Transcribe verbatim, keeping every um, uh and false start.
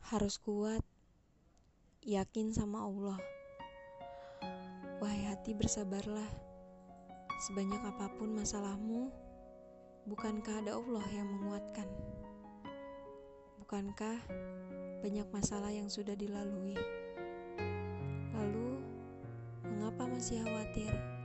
Harus kuat, yakin sama Allah. Wahai hati, bersabarlah. Sebanyak apapun masalahmu, bukankah ada Allah yang menguatkan? Bukankah banyak masalah yang sudah dilalui? Lalu, mengapa masih khawatir?